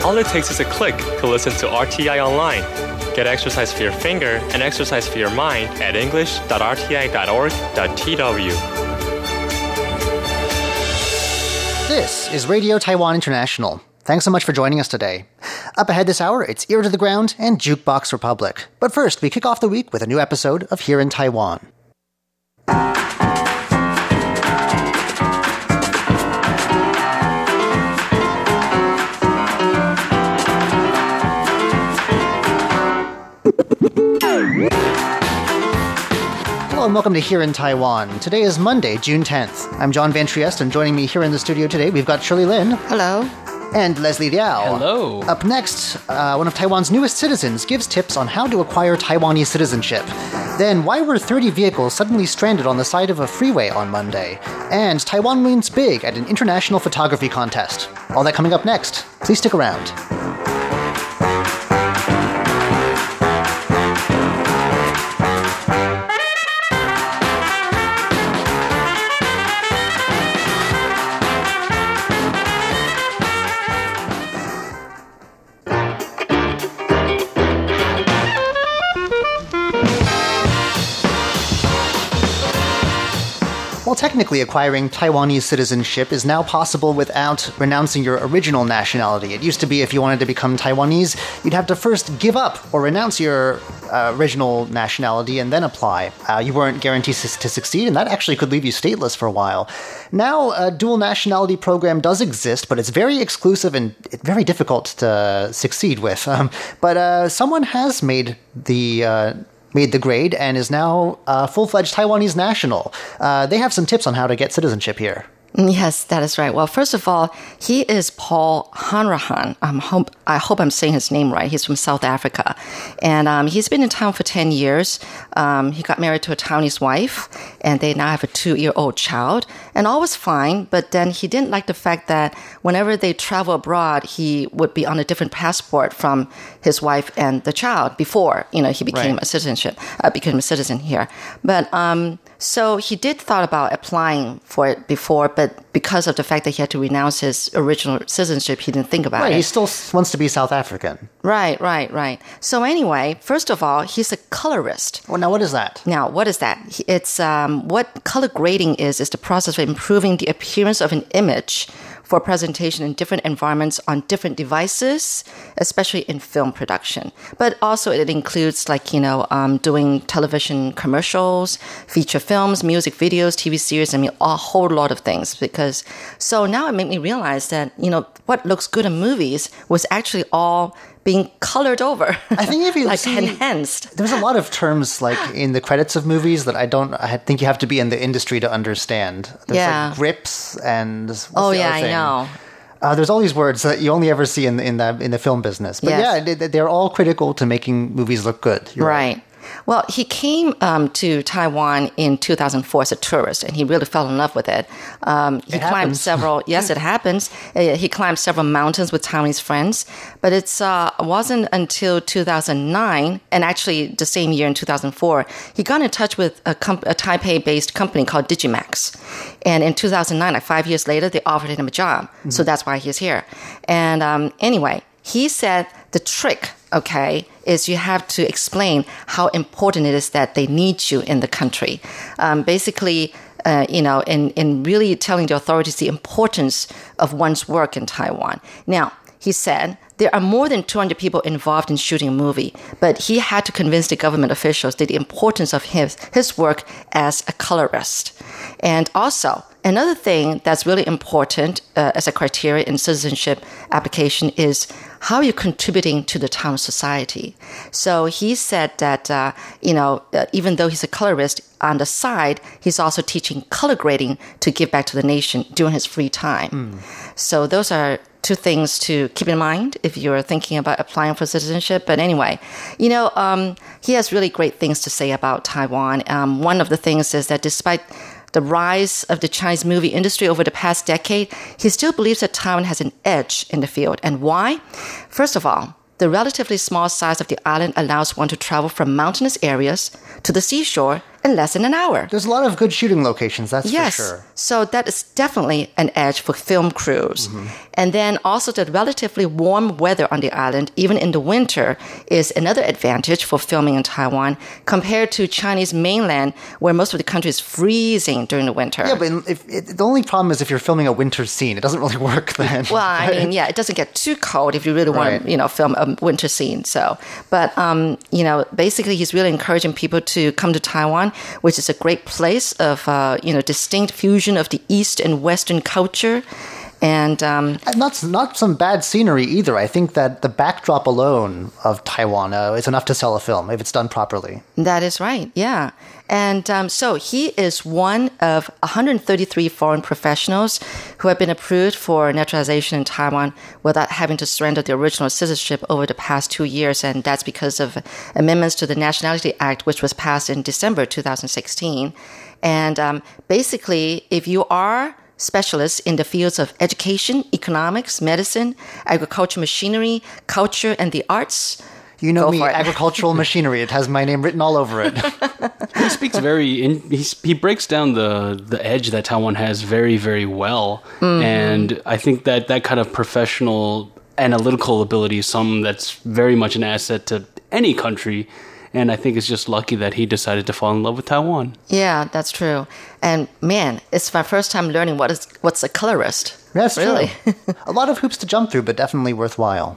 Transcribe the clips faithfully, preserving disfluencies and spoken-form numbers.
All it takes is a click to listen to R T I online. Get exercise for your finger and exercise for your mind at english dot r t i dot org dot t w. This is Radio Taiwan International. Thanks so much for joining us today. Up ahead this hour, it's Ear to the Ground and Jukebox Republic. But first, we kick off the week with a new episode of Here in Taiwan. Hello and welcome to Here in Taiwan. Today is Monday, June tenth. I'm John Van Trieste, and joining me here in the studio today, we've got Shirley Lin. Hello. And Leslie Liao. Hello. Up next, uh, one of Taiwan's newest citizens gives tips on how to acquire Taiwanese citizenship. Then, why were thirty vehicles suddenly stranded on the side of a freeway on Monday? And Taiwan wins big at an international photography contest. All that coming up next. Please stick around. Well, technically, acquiring Taiwanese citizenship is now possible without renouncing your original nationality. It used to be if you wanted to become Taiwanese, you'd have to first give up or renounce your uh, original nationality and then apply. Uh, you weren't guaranteed to, to succeed, and that actually could leave you stateless for a while. Now, a dual nationality program does exist, but it's very exclusive and very difficult to succeed with. Um, but uh, someone has made the... Uh, made the grade and is now a full-fledged Taiwanese national. Uh, they have some tips on how to get citizenship here. Yes, that is right. Well, first of all, he is Paul Hanrahan. Um, hope, I hope I'm saying his name right. He's from South Africa. And um, he's been in town for ten years. Um, he got married to a Taiwanese wife, and they now have a two-year-old child. And all was fine, but then he didn't like the fact that whenever they travel abroad, he would be on a different passport from his wife and the child before, you know, he became right. a citizenship, uh, became a citizen here. But um, so he did thought about applying for it before, but because of the fact that he had to renounce his original citizenship, he didn't think about right, it. Right, he still wants to be South African. Right, right, right. So anyway, first of all, he's a colorist. Well, now what is that? Now, what is that? It's um, what color grading is, is the process of improving the appearance of an image for presentation in different environments on different devices, especially in film production. But also it includes like, you know, um, doing television commercials, feature films, music videos, T V series, I mean, a whole lot of things. Because so now it made me realize that, you know, what looks good in movies was actually all being colored over. I think if you like see, enhanced. There's a lot of terms like in the credits of movies that I don't. I think you have to be in the industry to understand. There's yeah. like grips and. What's oh the yeah, other thing? I know. Uh, there's all these words that you only ever see in the, in the in the film business. But yes. yeah, they, they're all critical to making movies look good. You're right. right. Well, he came um, to Taiwan in two thousand four as a tourist, and he really fell in love with it. Um, he it climbed happens. several. Yes, it happens. Uh, he climbed several mountains with Taiwanese friends, but it uh, wasn't until two thousand nine, and actually the same year in two thousand four, he got in touch with a, comp- a Taipei-based company called Digimax, and in two thousand nine, like five years later, they offered him a job. Mm-hmm. So that's why he's here. And um, anyway, he said the trick, okay, is you have to explain how important it is that they need you in the country. Um, basically, uh, you know, in, in really telling the authorities the importance of one's work in Taiwan. Now, he said, there are more than two hundred people involved in shooting a movie, but he had to convince the government officials that the importance of his, his work as a colorist. And also, another thing that's really important uh, as a criteria in citizenship application is how you're contributing to the town society. So he said that, uh, you know, uh, even though he's a colorist, on the side, he's also teaching color grading to give back to the nation during his free time. Mm. So those are two things to keep in mind if you're thinking about applying for citizenship. But anyway, you know, um, he has really great things to say about Taiwan. Um, one of the things is that despite the rise of the Chinese movie industry over the past decade, he still believes that Taiwan has an edge in the field. And why? First of all, the relatively small size of the island allows one to travel from mountainous areas to the seashore in less than an hour. There's a lot of good shooting locations, that's Yes. for sure. So that is definitely an edge for film crews. Mm-hmm. And then also the relatively warm weather on the island, even in the winter, is another advantage for filming in Taiwan compared to Chinese mainland, where most of the country is freezing during the winter. Yeah, but if, it, the only problem is if you're filming a winter scene, it doesn't really work then. Well, I mean, yeah, it doesn't get too cold if you really want Right. to, you know, film a winter scene. So, but, um, you know, basically he's really encouraging people to come to Taiwan, which is a great place of, uh, you know, distinct fusion of the East and Western culture. And um, And not, not some bad scenery either. I think that the backdrop alone of Taiwan uh, is enough to sell a film if it's done properly. that is right, yeah. And um, so he is one of one hundred thirty-three foreign professionals who have been approved for naturalization in Taiwan without having to surrender the original citizenship over the past two years. And that's because of amendments to the Nationality Act, which was passed in December two thousand sixteen. And um, basically, if you are specialists in the fields of education, economics, medicine, agriculture, machinery, culture, and the arts, You know Go me, for it. agricultural machinery. It has my name written all over it. He speaks very. In, he he breaks down the the edge that Taiwan has very very well, mm-hmm. and I think that that kind of professional analytical ability is something that's very much an asset to any country. And I think it's just lucky that he decided to fall in love with Taiwan. Yeah, that's true. And man, it's my first time learning what is what's a colorist. That's really true. A lot of hoops to jump through, but definitely worthwhile.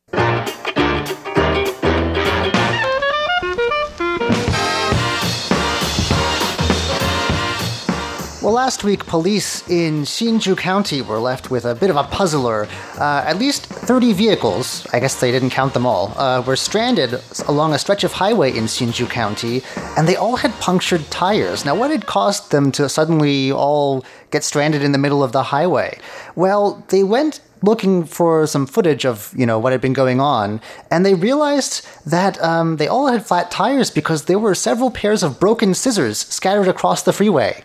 Well, last week, police in Hsinchu County were left with a bit of a puzzler. Uh, at least thirty vehicles, I guess they didn't count them all, uh, were stranded along a stretch of highway in Hsinchu County, and they all had punctured tires. Now, what had caused them to suddenly all get stranded in the middle of the highway? Well, they went looking for some footage of, you know, what had been going on, and they realized that um, they all had flat tires because there were several pairs of broken scissors scattered across the freeway.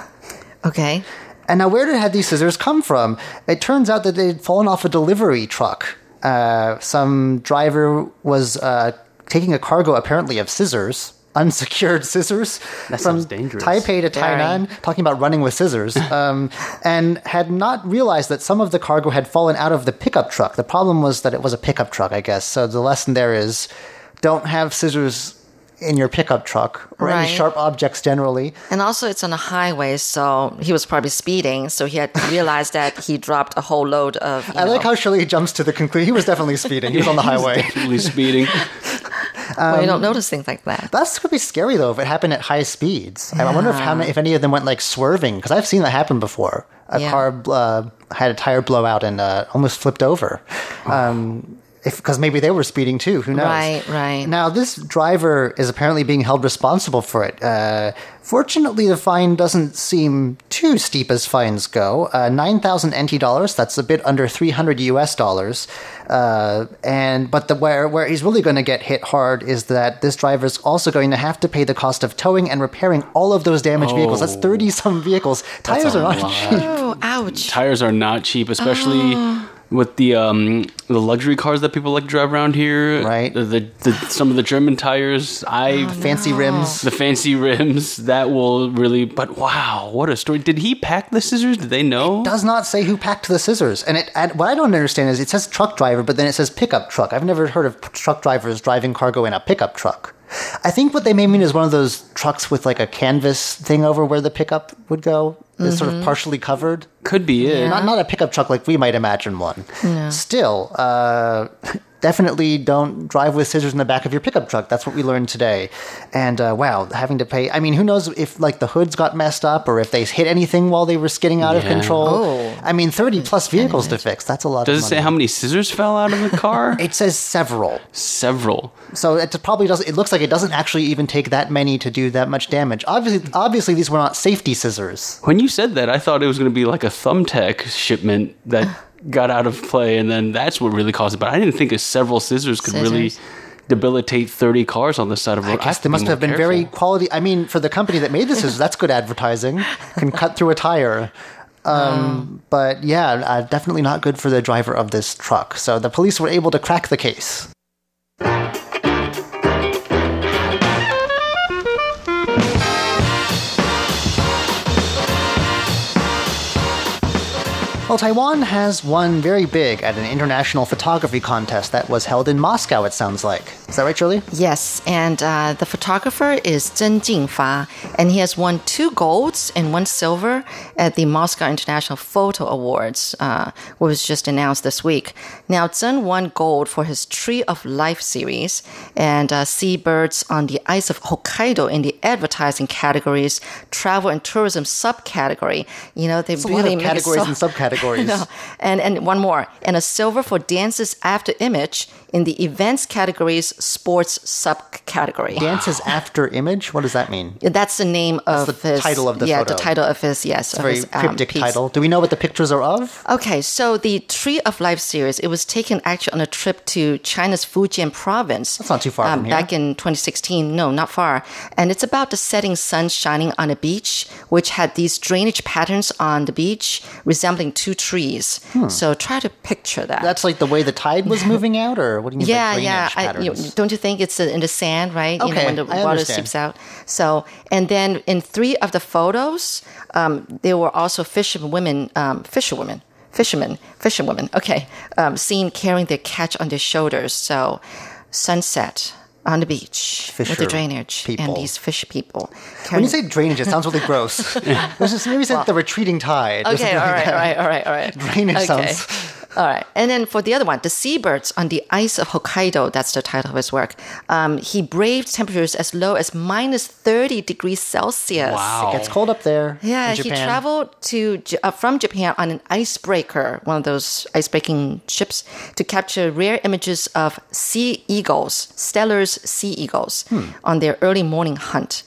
Okay. And now, where did had these scissors come from? It turns out that they'd fallen off a delivery truck. Uh, some driver was uh, taking a cargo, apparently, of scissors, unsecured scissors, That from sounds dangerous. Taipei to Tainan, talking about running with scissors, um, and had not realized that some of the cargo had fallen out of the pickup truck. The problem was that it was a pickup truck, I guess. So the lesson there is, don't have scissors in your pickup truck or Right. any sharp objects generally. And also, it's on a highway, so he was probably speeding. So he had realized that he dropped a whole load of. You I know, like how Shirley jumps to the conclusion. He was definitely speeding. He was on the highway. Definitely speeding. well, you don't notice things like that. That's could be scary though if it happened at high speeds. I wonder if how many, if any of them went like swerving, because I've seen that happen before. A Yeah. car uh, had a tire blow out and uh, almost flipped over. Um, if because maybe they were speeding too. Who knows? Right, right. Now this driver is apparently being held responsible for it. Uh, fortunately, the fine doesn't seem too steep as fines go. Uh, Nine thousand N T dollars. That's a bit under three hundred U S dollars. Uh, and but the where where he's really going to get hit hard is that this driver is also going to have to pay the cost of towing and repairing all of those damaged vehicles. That's thirty some vehicles. Tires a are not lot. cheap. Oh, ouch. Tires are not cheap, especially with the um, the luxury cars that people like to drive around here. Right. The, the, the some of the German tires. I Fancy rims. the fancy rims that will really. But wow, what a story! Did he pack the scissors? Did they know? Does not say who packed the scissors. And, it, and what I don't understand is it says truck driver, but then it says pickup truck. I've never heard of p- truck drivers driving cargo in a pickup truck. I think what they may mean is one of those trucks with like a canvas thing over where the pickup would go. It's sort of partially covered. Could be it. Not not a pickup truck like we might imagine one. Still, uh, definitely don't drive with scissors in the back of your pickup truck. That's what we learned today. And uh, wow, having to pay. I mean, who knows if like the hoods got messed up or if they hit anything while they were skidding out of Yeah. control. Oh. I mean, thirty plus vehicles to fix. That's a lot. Does of it say money. how many scissors fell out of the car? It says several. Several. So it probably doesn't. It looks like it doesn't actually even take that many to do that much damage. Obviously, obviously these were not safety scissors. When you said that, I thought it was going to be like a thumbtack shipment that got out of play, and then that's what really caused it. But I didn't think several scissors could really Scissors. debilitate thirty cars on the side of a road. I guess they must have been very quality. I mean, for the company that made the scissors, that's good advertising. Can cut through a tire. Um, But yeah, uh, definitely not good for the driver of this truck. So the police were able to crack the case. Well, Taiwan has won very big at an international photography contest that was held in Moscow, it sounds like. Is that right, Shirley? Yes, and uh, the photographer is Zheng Jingfa, and he has won two golds and one silver at the Moscow International Photo Awards, uh, which was just announced this week. Now, Zheng won gold for his Tree of Life series and uh, Seabirds on the Ice of Hokkaido in the advertising categories, travel and tourism subcategory. You know, they It's really a lot of make it categories so- and subcategories. no. And and one more. And a silver for dances after image in the events categories sports subcategory. Dances after image? What does that mean? That's the name of the his title of the yeah, photo. the title of his yes, It's a of very his, um, cryptic piece. title. Do we know what the pictures are of? Okay, so the Tree of Life series, it was taken actually on a trip to China's Fujian province. That's not too far um, from here. Back in twenty sixteen. No, not far. And it's about the setting sun shining on a beach, which had these drainage patterns on the beach resembling two trees. So try to picture that. Hmm. That's like the way the tide was moving out, or what do you mean yeah, by drainage yeah. I, you, patterns? don't you think it's in the sand, right? You know, Okay, when the I water understand. seeps out. So, and then in three of the photos, um, there were also fisherwomen, um, fisherwomen, fishermen, fisherwomen. Okay, um, seen carrying their catch on their shoulders. So, sunset on the beach with Fisher the drainage people. and these fish people. When you carrying- say drainage, it sounds really gross. There's just, maybe say the retreating tide. or Okay, something all like right, that. all right, all right, all right. Drainage okay. sounds- All right. And then for the other one, the Seabirds on the Ice of Hokkaido, that's the title of his work. Um, he braved temperatures as low as minus thirty degrees Celsius. Wow. It's cold up there. Yeah, in he Japan. traveled to J- uh, from Japan on an icebreaker, one of those ice-breaking ships, to capture rare images of sea eagles, Steller's sea eagles, on their early morning hunt.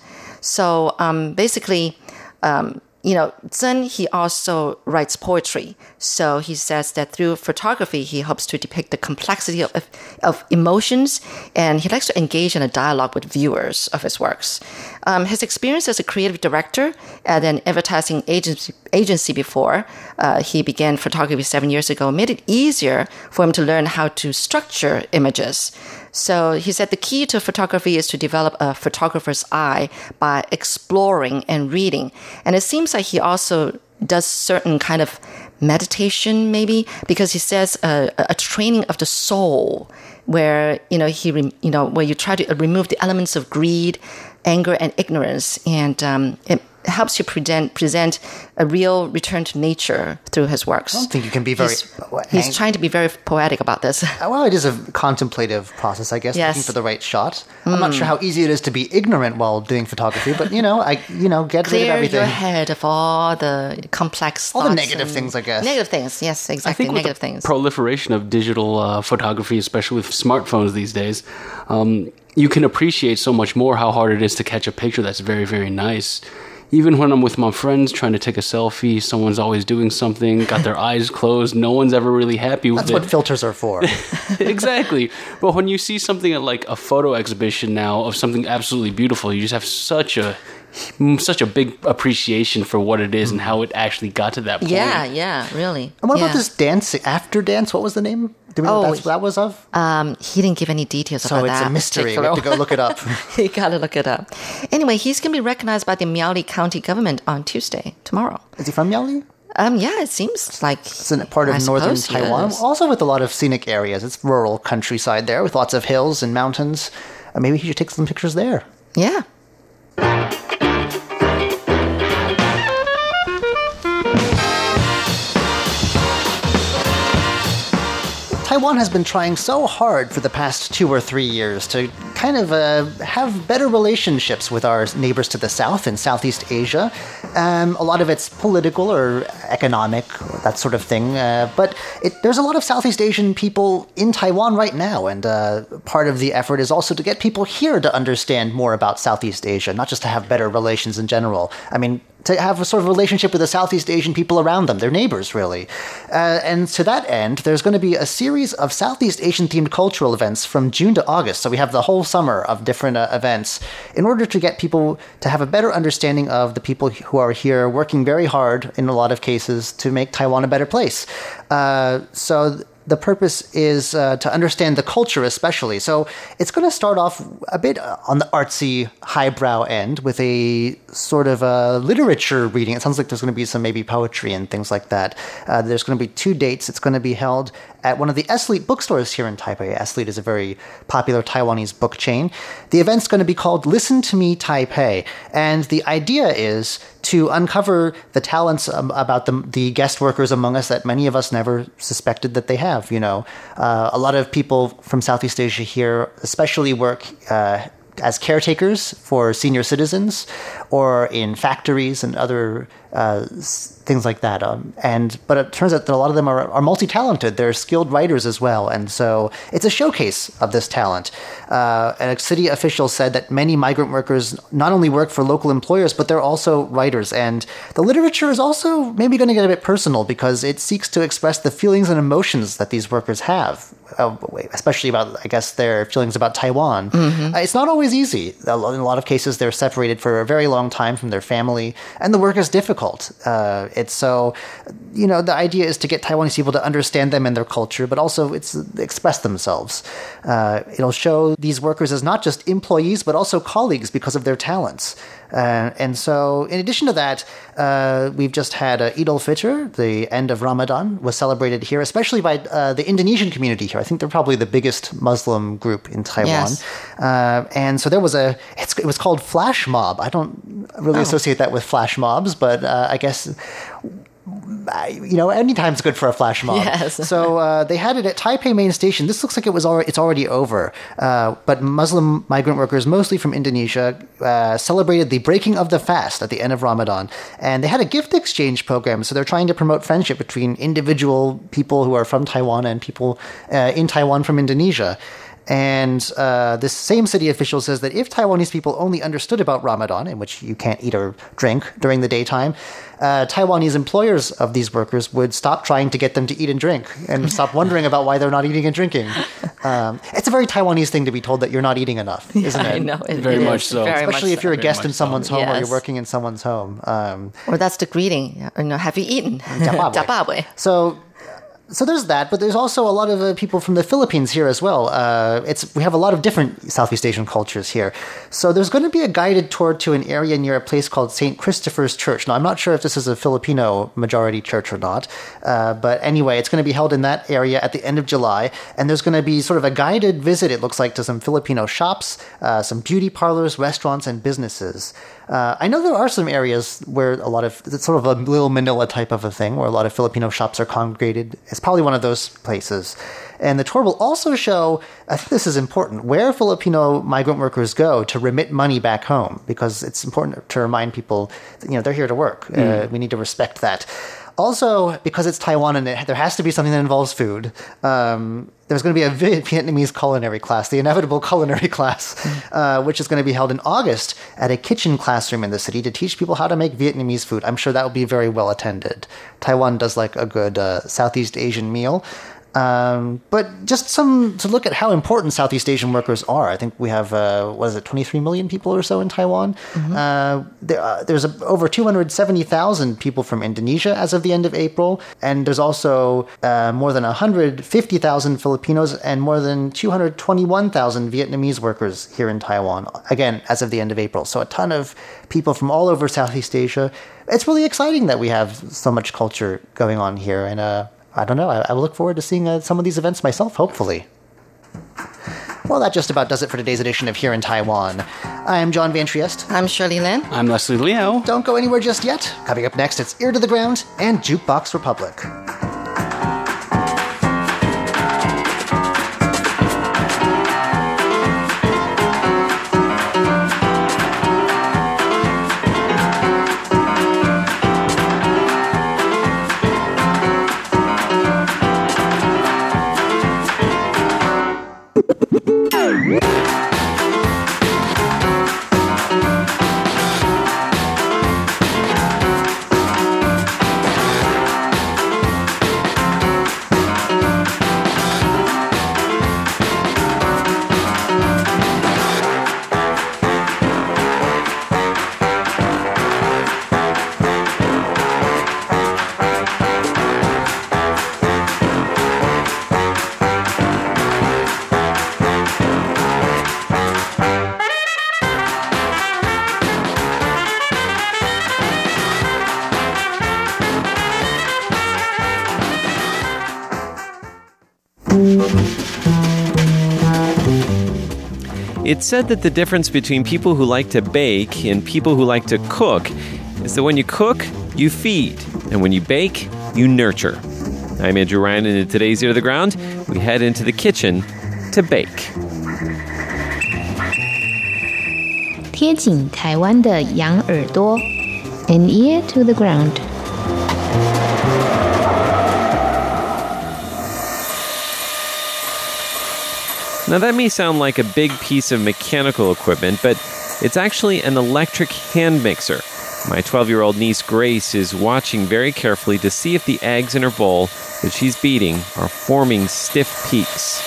So um, basically, um, you know, Zheng, he also writes poetry. So he says that through photography, he hopes to depict the complexity of, of, of emotions, and he likes to engage in a dialogue with viewers of his works. Um, his experience as a creative director at an advertising agency, agency before uh, he began photography seven years ago made it easier for him to learn how to structure images. So he said the key to photography is to develop a photographer's eye by exploring and reading. And it seems like he also does certain kind of meditation, maybe, because he says uh, a training of the soul, where you know he re- you know where you try to remove the elements of greed, anger, and ignorance, and um, it helps you present present a real return to nature through his works. I don't think you can be very. He's, he's trying to be very poetic about this. Well, it is a contemplative process, I guess, Yes. looking for the right shot. I'm not sure how easy it is to be ignorant while doing photography, but you know, I you know get rid of Clear everything. your head of all the complex All the thoughts negative and- things, I guess. Negative things, yes, I exactly. think with Negative the things. proliferation of digital uh, photography, especially with smartphones these days, um, you can appreciate so much more how hard it is to catch a picture that's very, very nice. Even when I'm with my friends trying to take a selfie, someone's always doing something, got their eyes closed, no one's ever really happy with That's it. what filters are for. Exactly. But when you see something at like a photo exhibition now of something absolutely beautiful, you just have such a such a big appreciation for what it is and how it actually got to that point. Yeah, yeah, really. And what yeah. about this dance after dance? What was the name? Do we know Oh, what that's, that was of? Um, he didn't give any details So about it's that. a mystery. We have to go look it up. You gotta look it up. Anyway, he's gonna be recognized by the Miaoli County government on Tuesday, tomorrow. Is he from Miaoli? Um, yeah, it seems like It's a part of I northern suppose he Taiwan, is. also with a lot of scenic areas. It's rural countryside there with lots of hills and mountains. Uh, maybe he should take some pictures there. Yeah. Taiwan has been trying so hard for the past two or three years to kind of uh, have better relationships with our neighbors to the south in Southeast Asia. Um, a lot of it's political or economic, that sort of thing. Uh, but it, there's a lot of Southeast Asian people in Taiwan right now, and uh, part of the effort is also to get people here to understand more about Southeast Asia, not just to have better relations in general. I mean, to have a sort of relationship with the Southeast Asian people around them, their neighbors, really. Uh, and to that end, there's going to be a series of Southeast Asian-themed cultural events from June to August. So we have the whole summer of different uh, events in order to get people to have a better understanding of the people who are here working very hard, in a lot of cases, to make Taiwan a better place. Uh, so... the purpose is uh, to understand the culture especially. So it's going to start off a bit on the artsy, highbrow end with a sort of a literature reading. It sounds like there's going to be some maybe poetry and things like that. Uh, there's going to be two dates. It's going to be held at one of the Eslite bookstores here in Taipei. Eslite is a very popular Taiwanese book chain. The event's going to be called Listen to Me Taipei. And the idea is to uncover the talents um, about the, the guest workers among us that many of us never suspected that they have. You know, uh, a lot of people from Southeast Asia here especially work uh, as caretakers for senior citizens or in factories and other uh, things like that. Um, and but it turns out that a lot of them are, are multi-talented. They're skilled writers as well. And so it's a showcase of this talent. Uh, and a city official said that many migrant workers not only work for local employers, but they're also writers. And the literature is also maybe going to get a bit personal because it seeks to express the feelings and emotions that these workers have, uh, especially about, I guess, their feelings about Taiwan. Mm-hmm. Uh, it's not always easy. In a lot of cases, they're separated for a very long time from their family, and the work is difficult. Uh, it's so, you know, the idea is to get Taiwanese people to understand them and their culture, but also it's express themselves. Uh, it'll show these workers as not just employees, but also colleagues because of their talents. Uh, and so, in addition to that, uh, we've just had uh, Eid al-Fitr, the end of Ramadan, was celebrated here, especially by uh, the Indonesian community here. I think they're probably the biggest Muslim group in Taiwan. Yes. Uh, and so there was a, it's, it was called Flash Mob. I don't really oh. associate that with flash mobs, but uh, I guess... you know, anytime's good for a flash mob. Yes. So uh, they had it at Taipei Main Station. This looks like it was already, it's already over. Uh, but Muslim migrant workers, mostly from Indonesia, uh, celebrated the breaking of the fast at the end of Ramadan. And they had a gift exchange program. So they're trying to promote friendship between individual people who are from Taiwan and people uh, in Taiwan from Indonesia. And uh, this same city official says that if Taiwanese people only understood about Ramadan, in which you can't eat or drink during the daytime, uh, Taiwanese employers of these workers would stop trying to get them to eat and drink and stop wondering about why they're not eating and drinking. Um, it's a very Taiwanese thing to be told that you're not eating enough, isn't yeah, it? I know. It, very it much so. Very Especially much if you're so. a guest in someone's so. home Yes. or you're working in someone's home. Um, or that's the greeting. You know, have you eaten? Jiababwe. So... So there's that, but there's also a lot of uh, people from the Philippines here as well. Uh, it's we have a lot of different Southeast Asian cultures here. So there's going to be a guided tour to an area near a place called Saint Christopher's Church. Now, I'm not sure if this is a Filipino majority church or not, uh, but anyway, it's going to be held in that area at the end of July, and there's going to be sort of a guided visit, it looks like, to some Filipino shops, uh, some beauty parlors, restaurants, and businesses. Uh, I know there are some areas where a lot of, it's sort of a little Manila type of a thing, where a lot of Filipino shops are congregated. It's probably one of those places. And the tour will also show, I think this is important, where Filipino migrant workers go to remit money back home, because it's important to remind people that, you know, they're here to work. Mm. Uh, we need to respect that. Also, because it's Taiwan and it, there has to be something that involves food, um, there's going to be a Vietnamese culinary class, the inevitable culinary class, uh, which is going to be held in August at a kitchen classroom in the city to teach people how to make Vietnamese food. I'm sure that will be very well attended. Taiwan does like a good uh, Southeast Asian meal. Um, but just some to look at how important Southeast Asian workers are. I think we have, uh, what is it, twenty-three million people or so in Taiwan. Mm-hmm. Uh, there, uh, there's a, over two hundred seventy thousand people from Indonesia as of the end of April. And there's also uh, more than one hundred fifty thousand Filipinos and more than two hundred twenty-one thousand Vietnamese workers here in Taiwan, again, as of the end of April. So a ton of people from all over Southeast Asia. It's really exciting that we have so much culture going on here. And, uh, I don't know. I, I will look forward to seeing uh, some of these events myself, hopefully. Well, that just about does it for today's edition of Here in Taiwan. I am John Van Trieste. I'm Shirley Lin. I'm Leslie Liao. Don't go anywhere just yet. Coming up next, it's Ear to the Ground and Jukebox Republic. It's said that the difference between people who like to bake and people who like to cook is that when you cook, you feed, and when you bake, you nurture. I'm Andrew Ryan, and in today's Ear to the Ground, we head into the kitchen to bake. 贴紧台湾的羊耳朵 An ear to the ground. Now that may sound like a big piece of mechanical equipment, but it's actually an electric hand mixer. My twelve-year-old niece Grace is watching very carefully to see if the eggs in her bowl that she's beating are forming stiff peaks.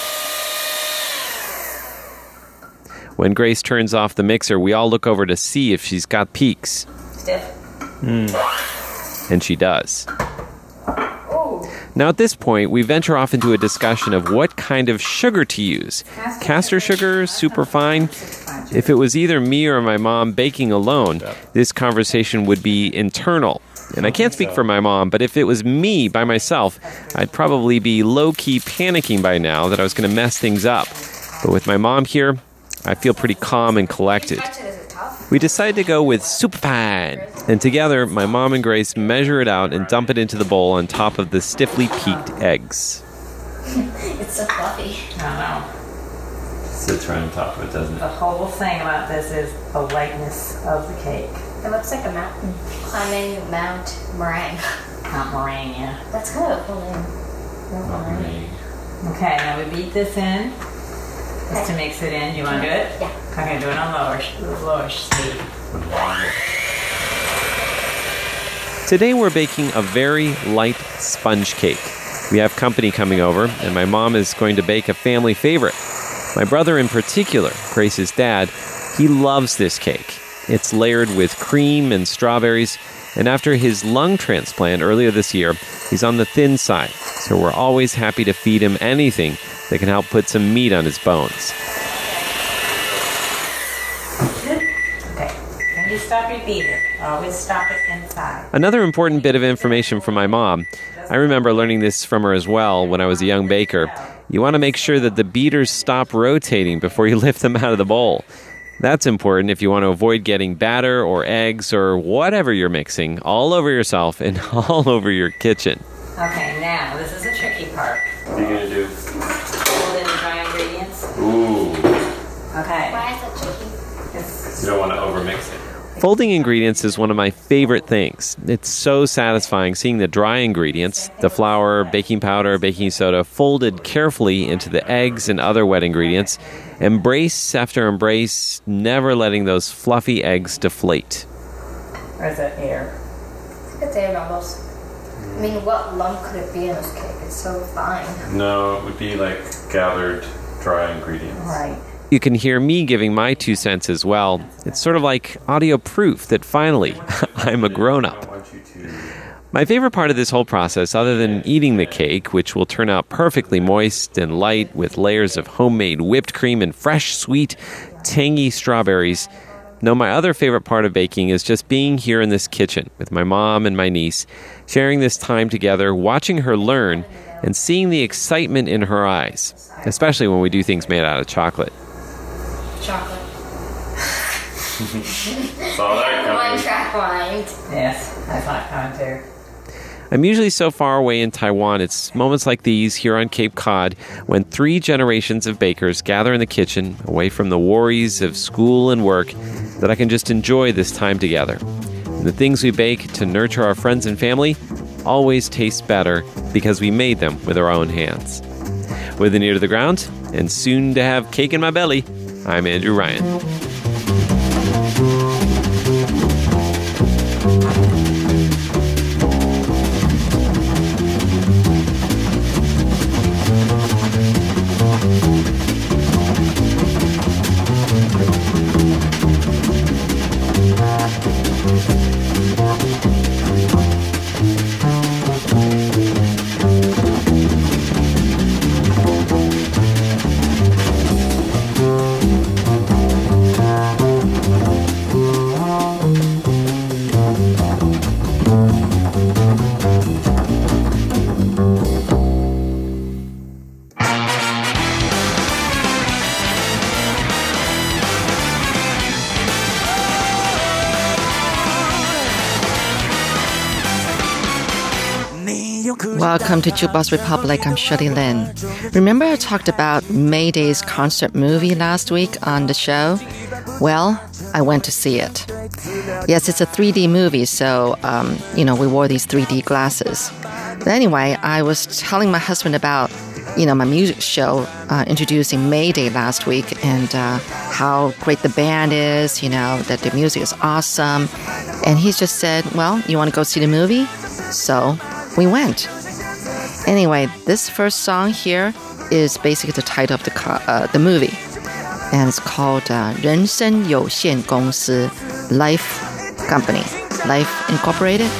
When Grace turns off the mixer, we all look over to see if she's got peaks. Stiff. Mm. And she does. Now at this point, we venture off into a discussion of what kind of sugar to use. Caster sugar, superfine? If it was either me or my mom baking alone, this conversation would be internal. And I can't speak for my mom, but if it was me by myself, I'd probably be low-key panicking by now that I was going to mess things up. But with my mom here, I feel pretty calm and collected. We decided to go with superfine, and together, my mom and Grace measure it out and dump it into the bowl on top of the stiffly peaked eggs. It's so fluffy. I know. Sits right on top of it, doesn't it? The whole thing about this is the lightness of the cake. It looks like a mountain. Climbing Mount Meringue. Mount Meringue, yeah. That's kind of a cool name. Mount Meringue. Okay, now we beat this in. Just to mix it in. Do you want to do it? Yeah. Okay, do it on lower, lower speed. Today we're baking a very light sponge cake. We have company coming over, and my mom is going to bake a family favorite. My brother in particular, Grace's dad, he loves this cake. It's layered with cream and strawberries, and after his lung transplant earlier this year, he's on the thin side, so we're always happy to feed him anything that can help put some meat on his bones. Okay, when you stop your beater, always stop it inside. Another important bit of information from my mom. I remember learning this from her as well when I was a young baker. You want to make sure that the beaters stop rotating before you lift them out of the bowl. That's important if you want to avoid getting batter or eggs or whatever you're mixing all over yourself and all over your kitchen. Okay, now, this is the tricky part. What are you going to do? Hold in the dry ingredients. Ooh. Okay. Why is that tricky? It's, You don't want to overmix it. Folding ingredients is one of my favorite things. It's so satisfying seeing the dry ingredients, the flour, baking powder, baking soda, folded carefully into the eggs and other wet ingredients. Embrace after embrace, never letting those fluffy eggs deflate. or is that air? It's air almost. I mean, what lump could it be in this cake? It's so fine. No, it would be like gathered dry ingredients. Right. You can hear me giving my two cents as well. It's sort of like audio proof that finally, I'm a grown-up. My favorite part of this whole process, other than eating the cake, which will turn out perfectly moist and light with layers of homemade whipped cream and fresh, sweet, tangy strawberries, no, my other favorite part of baking is just being here in this kitchen with my mom and my niece, sharing this time together, watching her learn, and seeing the excitement in her eyes, especially when we do things made out of chocolate. Chocolate. Saw that coming. One track mind. Yes, I saw it coming too. I'm usually so far away in Taiwan, it's moments like these here on Cape Cod when three generations of bakers gather in the kitchen, away from the worries of school and work, that I can just enjoy this time together. And the things we bake to nurture our friends and family always taste better because we made them with our own hands. With an ear to the ground, and soon to have cake in my belly, I'm Andrew Ryan. Welcome to Jukebox Republic. I'm Shirley Lin. Remember I talked about Mayday's concert movie last week on the show? Well, I went to see it. Yes, it's a three D movie, so, um, you know, we wore these three D glasses. But anyway, I was telling my husband about, you know, my music show uh, introducing Mayday last week and uh, how great the band is, you know, that the music is awesome. And he just said, well, you want to go see the movie? So we went. Anyway, this first song here is basically the title of the co- uh, the movie. And it's called uh, 人生有限公司 Life Company, Life Incorporated.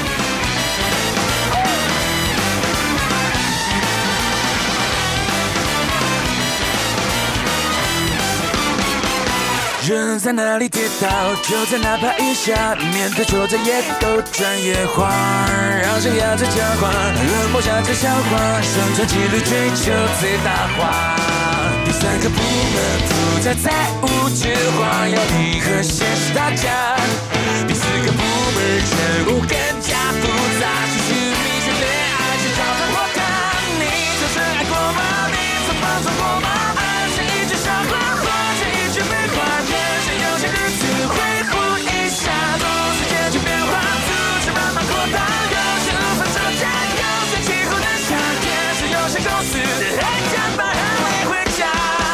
人在哪里跌倒，就在哪爬一下，面对挫折也都专业化，让生涯最强化，冷漠下最消化，生存纪律追求最大化。第三个部门负责财务计划，要你和现实打架。第四个部门任务更加复杂，寻寻觅寻对爱去找到我看。你曾深爱过吗？你曾放纵过吗？爱是一句笑话，或者一句废话。有些日子恢复一下，总是渐渐变化，组织慢慢扩大，有些无法招架，有些气候的夏天，是有些公司的爱将把你回家。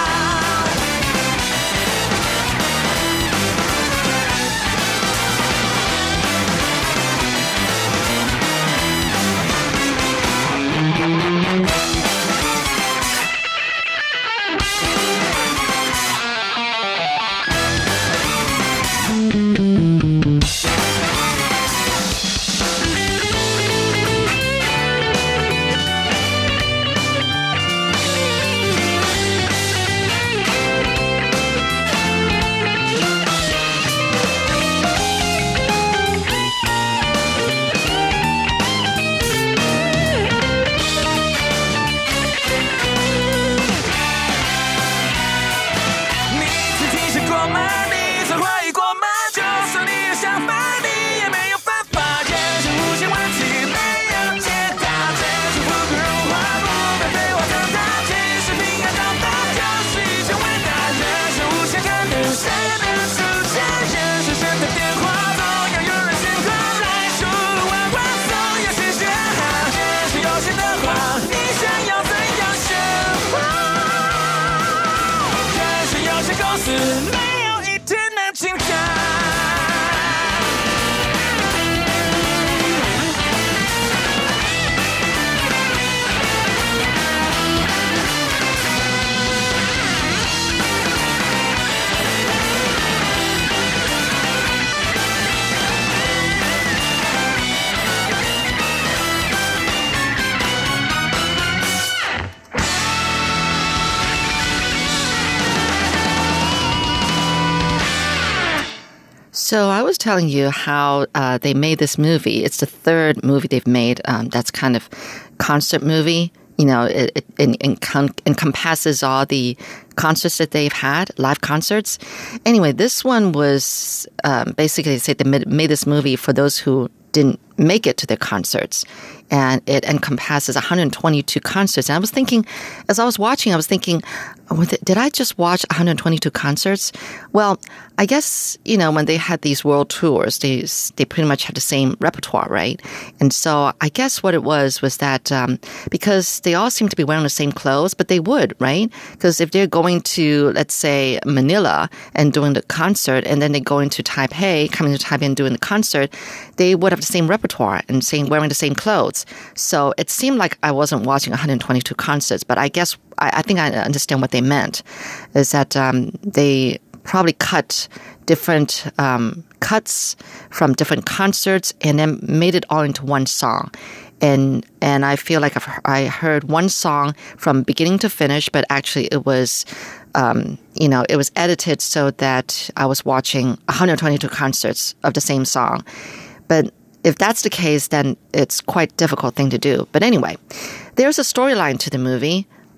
So I was telling you how uh, they made this movie. It's the third movie they've made um, that's kind of concert movie. You know, it, it, it encom- encompasses all the concerts that they've had, live concerts. Anyway, this one was um, basically, they say they made, made this movie for those who didn't make it to their concerts. And it encompasses one hundred twenty-two concerts. And I was thinking, as I was watching, I was thinking, did I just watch one hundred twenty-two concerts? Well, I guess, you know, when they had these world tours, they they pretty much had the same repertoire, right? And so I guess what it was was that um, because they all seem to be wearing the same clothes, but they would, right? Because if they're going to, let's say, Manila and doing the concert, and then they go into Taipei, coming to Taipei and doing the concert, they would have the same repertoire and same, wearing the same clothes. So it seemed like I wasn't watching one hundred twenty-two concerts, but I guess I, I think I understand what they meant is that um, they probably cut different um, cuts from different concerts and then made it all into one song. And and I feel like I've, I heard one song from beginning to finish, but actually it was, um, you know, it was edited so that I was watching one hundred twenty-two concerts of the same song. But if that's the case, then it's quite a difficult thing to do. But anyway, there's a storyline to the movie.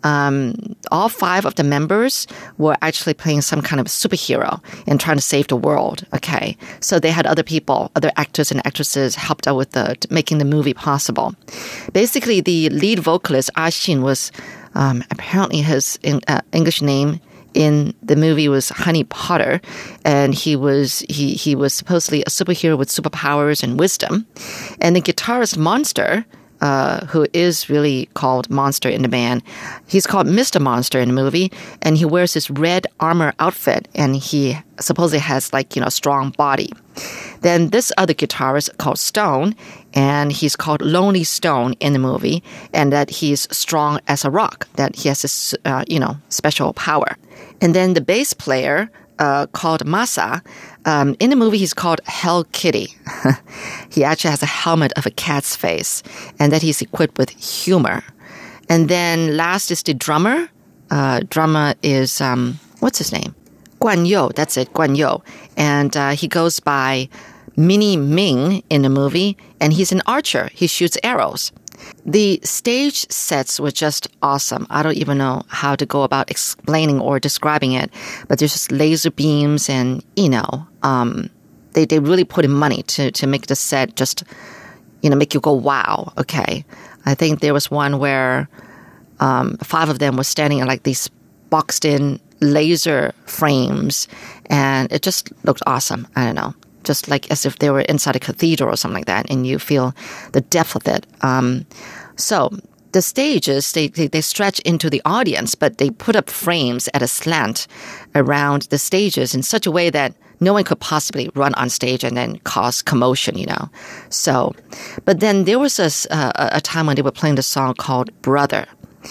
um, all five of the members were actually playing some kind of superhero and trying to save the world. Okay, so they had other people, other actors and actresses helped out with the making the movie possible. Basically, the lead vocalist Ah Xin was um, apparently his uh, English name in the movie was Honey Potter, and he was he he was supposedly a superhero with superpowers and wisdom. And the guitarist Monster, uh, who is really called Monster in the band, he's called Mister Monster in the movie, and he wears this red armor outfit, and he supposedly has like, you know, a strong body. Then this other guitarist called Stone, and he's called Lonely Stone in the movie, and that he's strong as a rock, that he has this, uh, you know, special power. And then the bass player, uh, called Masa, um, in the movie he's called Hell Kitty. He actually has a helmet of a cat's face, and that he's equipped with humor. And then last is the drummer. Uh, drummer is, um, what's his name? Guan Yu, that's it, Guan Yu. And uh, he goes by Mini Ming in the movie, and he's an archer. He shoots arrows. The stage sets were just awesome. I don't even know how to go about explaining or describing it, but there's just laser beams and, you know, um, they, they really put in money to, to make the set just, you know, make you go, wow, okay. I think there was one where um, five of them were standing in like these boxed in laser frames, and it just looked awesome. I don't know. Just like as if they were inside a cathedral or something like that, and you feel the depth of it. Um, so the stages, they, they, they stretch into the audience, but they put up frames at a slant around the stages in such a way that no one could possibly run on stage and then cause commotion, you know. So, but then there was a, uh, a time when they were playing the song called Brother.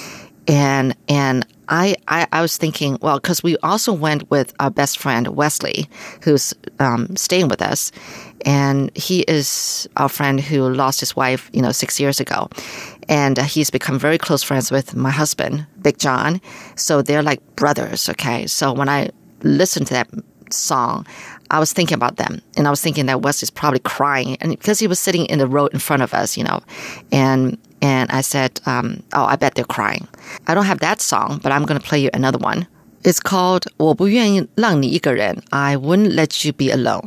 And and I, I, I was thinking, well, because we also went with our best friend, Wesley, who's um, staying with us. And he is our friend who lost his wife, you know, six years ago. And uh, he's become very close friends with my husband, Big John. So they're like brothers, okay? So when I listened to that song, I was thinking about them. And I was thinking that Wesley's probably crying. And because he was sitting in the row in front of us, you know, and... And I said, um, oh, I bet they're crying. I don't have that song, but I'm going to play you another one. It's called 我不愿意让你一个人 I wouldn't let you be alone.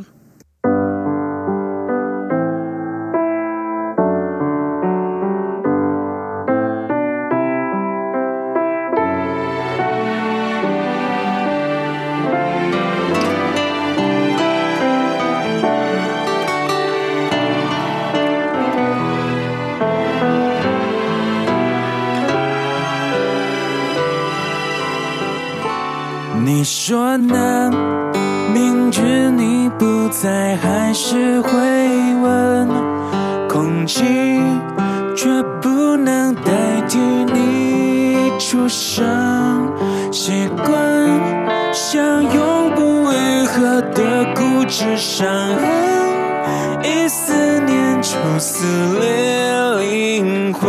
你说呢？明知你不在，还是会问。空气却不能代替你出声。习惯像永不愈合的固执伤痕，一思念就撕裂灵魂。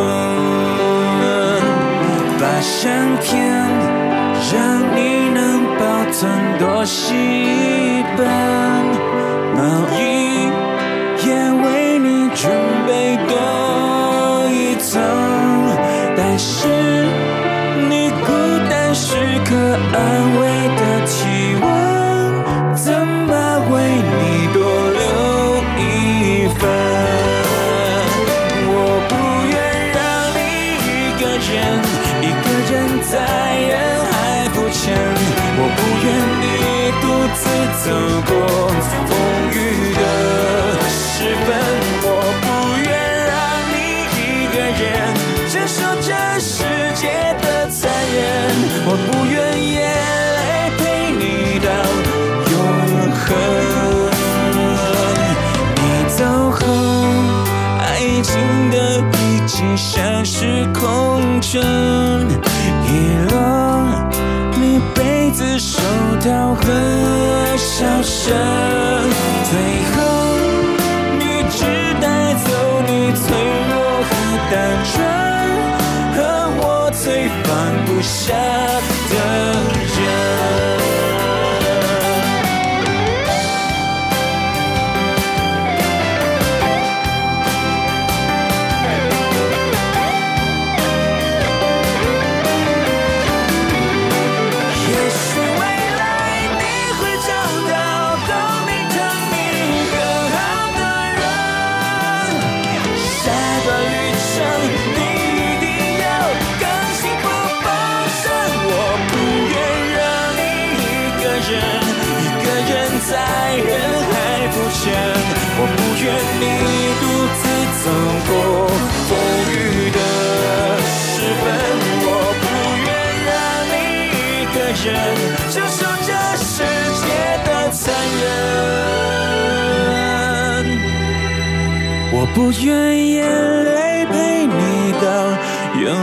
把相片让你能保存多细本，毛衣也为你准备多一层，但是你孤单时刻安慰的体温，怎么为你多留一份？我不愿让你一个人，一个人在人海浮沉。我不愿你独自走过风雨的时分，我不愿让你一个人承受这世界的残忍，我不愿眼泪陪你到永恒。你走后，爱情的遗迹像是空城，遗落你杯子、手套和笑声，最后你只带走你脆弱和单纯，和我最放不下的人。 人，承受这世界的残忍。我不愿眼泪陪你到永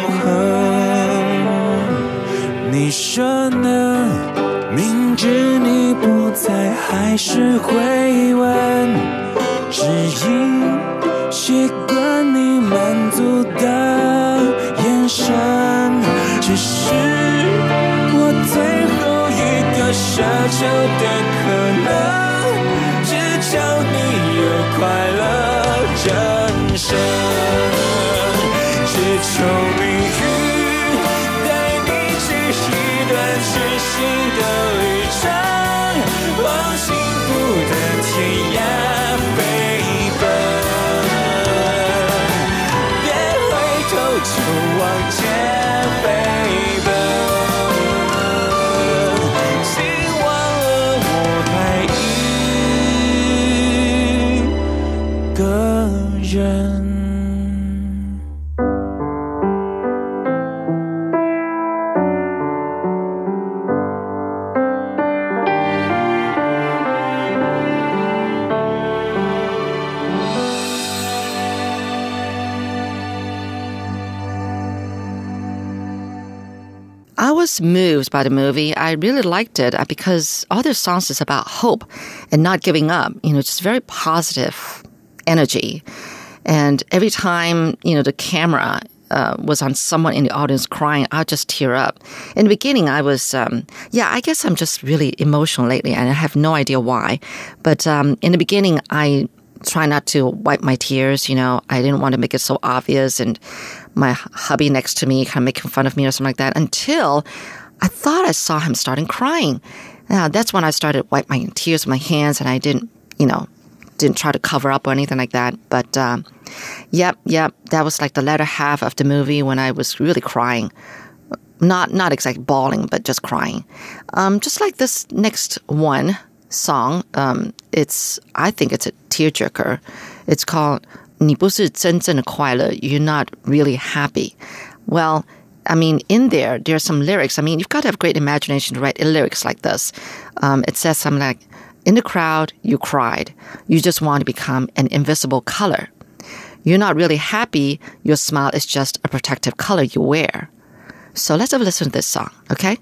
恒，你说呢？明知你不在，还是会问，只因习惯你满足的眼神，只是我最后一个奢求的可能，只求你有快乐人生，只求命运带你去一段全新的旅程，往幸福的天涯飞奔。就往前飞奔，希望了我还一个人。 I was moved by the movie. I really liked it because all their songs is about hope and not giving up. You know, just very positive energy. And every time, you know, the camera uh, was on someone in the audience crying, I'd just tear up. In the beginning, I was, um, yeah, I guess I'm just really emotional lately, and I have no idea why. But um, in the beginning, I try not to wipe my tears. You know, I didn't want to make it so obvious, and my hubby next to me kind of making fun of me or something like that, until I thought I saw him starting crying. Now, that's when I started wiping my tears with my hands, and I didn't, you know, didn't try to cover up or anything like that. But, um, yep, yep, that was like the latter half of the movie when I was really crying. Not not exactly bawling, but just crying. Um, just like this next one song, um, it's, I think it's a tearjerker. It's called 你不是真正的快乐, you're not really happy. Well, I mean, in there, there are some lyrics. I mean, you've got to have great imagination to write lyrics like this. Um, it says something like, in the crowd, you cried. You just want to become an invisible color. You're not really happy. Your smile is just a protective color you wear. So let's have a listen to this song, okay?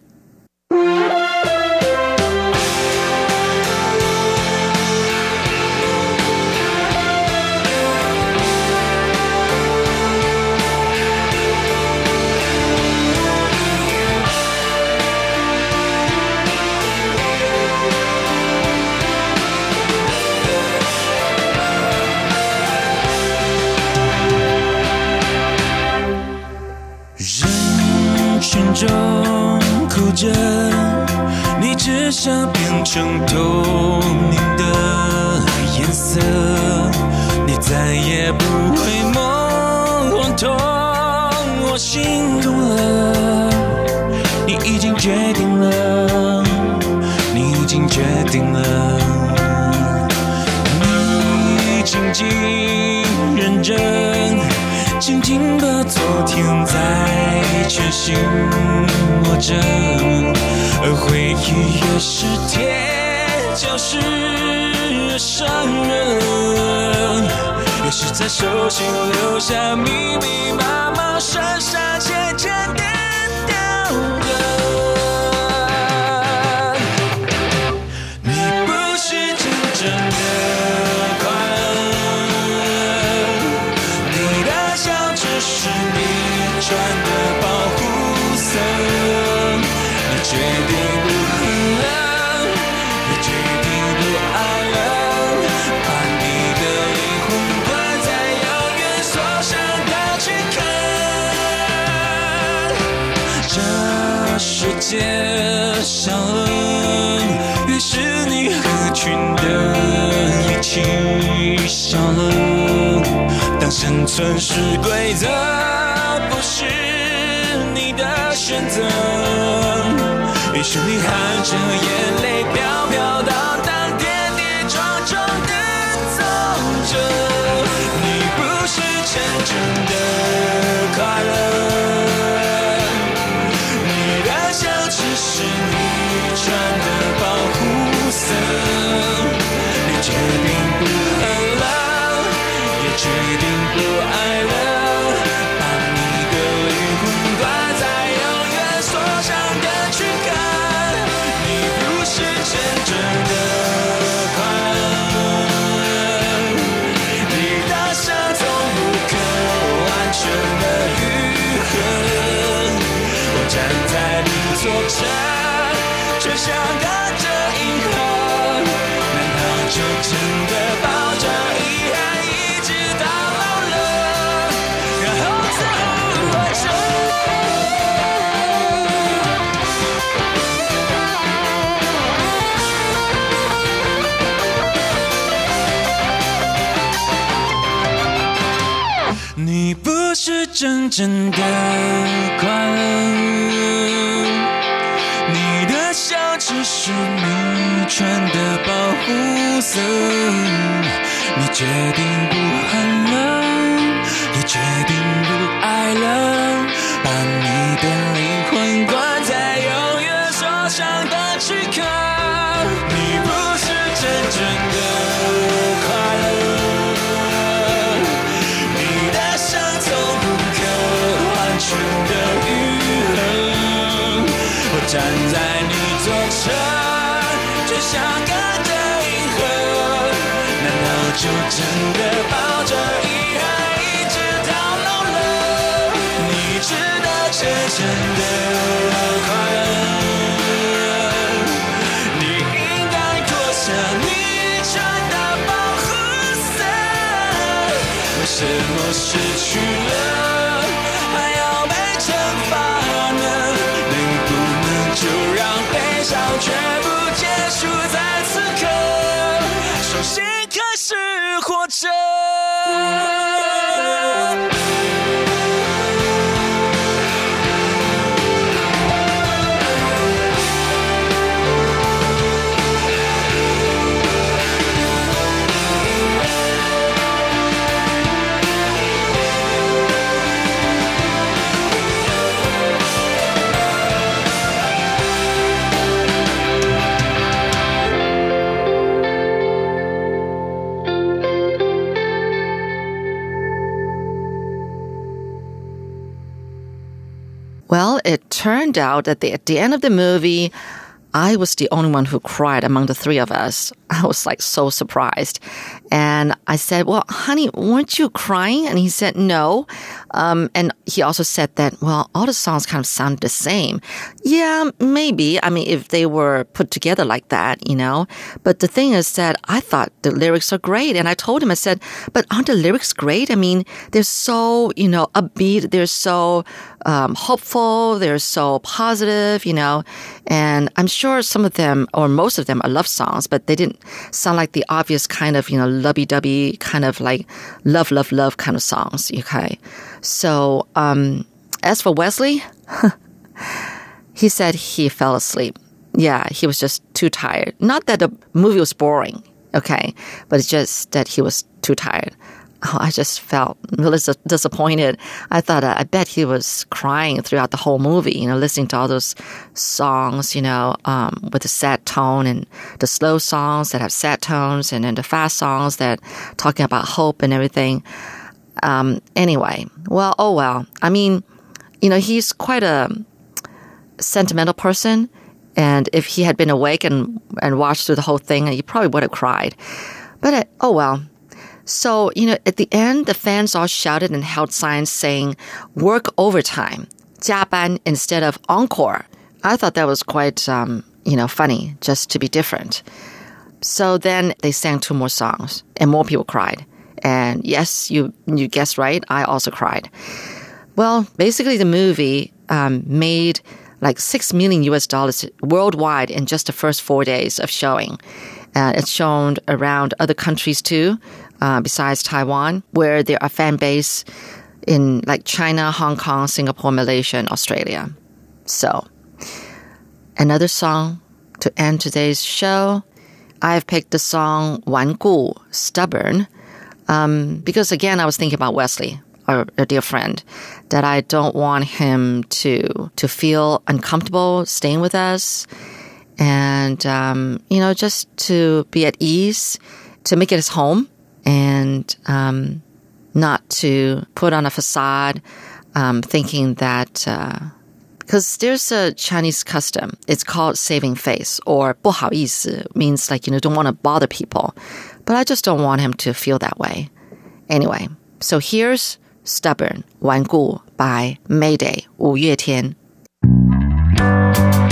中哭着，你只想变成透明的颜色，你再也不会梦幻痛我心动了，你已经决定了，你已经决定了，你静静认真，静静把昨天在全心握着，而回忆越是甜，就是越伤人，越是在手心留下密密麻麻、深深浅浅的雕刻。你不是真正的快乐，你的笑只是你穿的保护色，你决定不恨了，你决定不爱了，把你的灵魂关在遥远锁上的躯壳。这世界上了，于是你合群的一起笑了。当生存是规则，不是你的选择，于是你含着眼泪飘飘荡荡，跌跌撞撞的走着。你不是真正的快乐，你的笑只是坐着，却像隔着银河，难道就真的抱着遗憾一直到老了，然后再活着？你不是真正的快乐，你的笑只是你穿的保护色，你决定不喊了，也决定不爱了，把你的灵魂关在永远受伤的躯壳。你不是真正的快乐，你的伤从不可挽回的愈合，我站在你左侧，就像隔着银河，难道就真的抱着遗憾一直到老了？你值得真正的快乐，你应该脱下你穿的保护色，为什么失去了还要被惩罚呢？能不能就让悲伤全部结束在此刻，重新开始活着。 Well, it turned out that the, at the end of the movie, I was the only one who cried among the three of us. I was like so surprised. And I said, well, honey, weren't you crying? And he said, no. Um, and he also said that, well, all the songs kind of sounded the same. Yeah, maybe. I mean, if they were put together like that, you know. But the thing is that I thought the lyrics are great. And I told him, I said, but aren't the lyrics great? I mean, they're so, you know, upbeat. They're so um, hopeful. They're so positive, you know. And I'm sure some of them, or most of them, are love songs, but they didn't sound like the obvious kind of, you know, lovey-dovey kind of like love, love, love kind of songs. Okay. So, um, as for Wesley, he said he fell asleep. Yeah, he was just too tired. Not that the movie was boring, okay, but it's just that he was too tired. Oh, I just felt really disappointed. I thought, uh, I bet he was crying throughout the whole movie, you know, listening to all those songs, you know, um, with the sad tone, and the slow songs that have sad tones, and then the fast songs that talking about hope and everything. Um, anyway, well, oh well. I mean, you know, he's quite a sentimental person, and if he had been awake and, and watched through the whole thing, he probably would have cried. But, uh, oh well. So, you know, at the end, the fans all shouted and held signs saying, work overtime, 加班 instead of encore. I thought that was quite, um, you know, funny, just to be different. So then they sang two more songs, and more people cried. And yes, you you guessed right, I also cried. Well, basically the movie um, made like six million U S dollars worldwide in just the first four days of showing. Uh, it's shown around other countries too, uh, besides Taiwan, where there are fan base in like China, Hong Kong, Singapore, Malaysia, and Australia. So, another song to end today's show. I've picked the song 顽固, Stubborn, um, because again, I was thinking about Wesley, our, our dear friend, that I don't want him to to feel uncomfortable staying with us, and um, you know, just to be at ease, to make it his home, and um, not to put on a facade, um, thinking that. Uh, Because there's a Chinese custom. It's called saving face, or 不好意思 means like, you know, don't want to bother people. But I just don't want him to feel that way. Anyway, so here's Stubborn, 顽固 by Mayday, 五月天.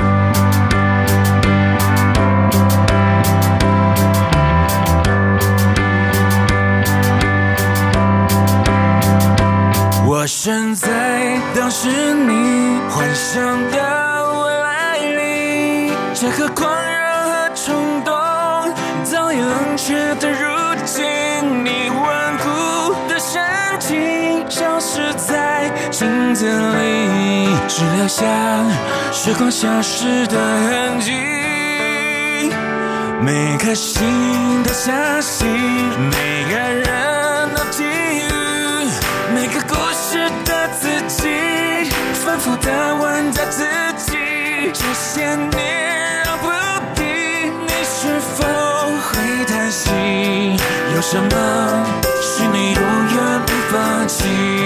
这个狂热和冲动早已冷却的如今，你顽固的神经消失在镜子里，只留下时光消失的痕迹。每颗心都相信，每个人都际遇，每个故事的自己，反复地问着自己，这些年绕不定，你是否会叹息？有什么是你永远不放弃？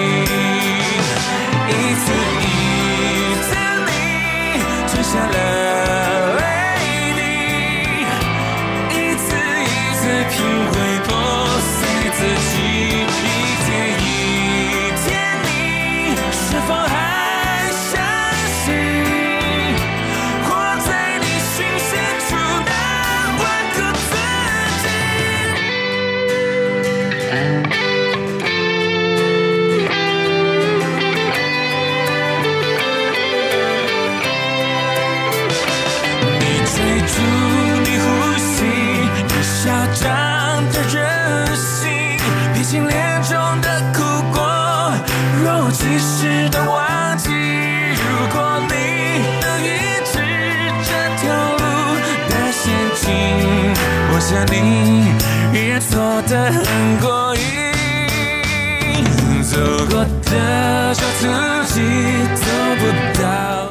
一次一次你吞下了泪滴，一次一次品味破碎自己，一天一天你是否还相信，活在你心深处的万个自己。你追逐你呼吸，你嚣张的任性，披荆脸中的苦果，若无其事的忘记。如果你能抑制这条路的陷阱，我想你依然错得很过瘾。走过的小足迹，走不到。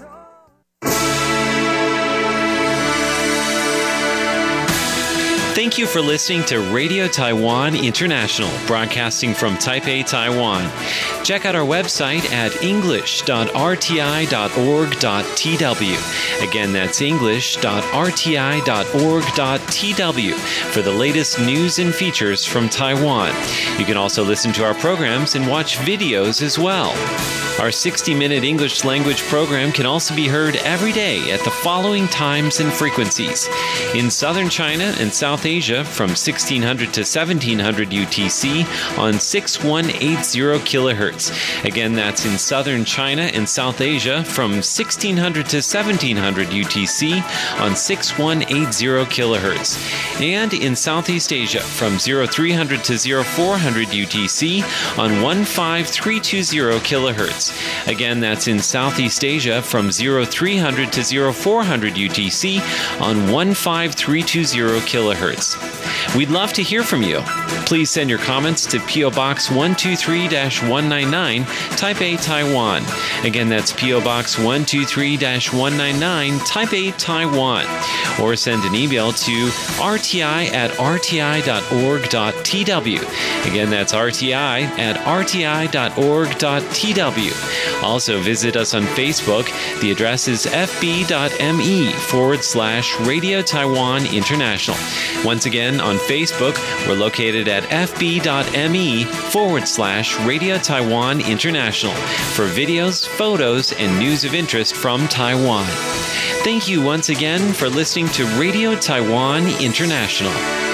Thank you for listening to Radio Taiwan International, broadcasting from Taipei, Taiwan. Check out our website at english dot r t i dot org dot t w. Again, that's english dot r t i dot org dot t w for the latest news and features from Taiwan. You can also listen to our programs and watch videos as well. Our sixty-minute English language program can also be heard every day at the following times and frequencies. In southern China and South Asia from sixteen hundred to seventeen hundred U T C on six one eight zero kilohertz. Again, that's in southern China and South Asia from sixteen hundred to seventeen hundred U T C on six one eight zero kilohertz. And in Southeast Asia from three hundred to four hundred U T C on one five three two zero kilohertz. Again, that's in Southeast Asia from three hundred to four hundred U T C on one five three two zero kilohertz. We'd love to hear from you. Please send your comments to P O Box one two three dash one nine nine, Taipei, Taiwan. Again, that's P O Box one two three dash one nine nine, Taipei, Taiwan. Or send an email to r t i at r t i dot org dot t w. Again, that's r t i at r t i dot org dot t w. Also, visit us on Facebook. The address is fb.me forward slash Radio Taiwan International. Once again, on Facebook, we're located at fb.me forward slash Radio Taiwan International for videos, photos, and news of interest from Taiwan. Thank you once again for listening to Radio Taiwan International.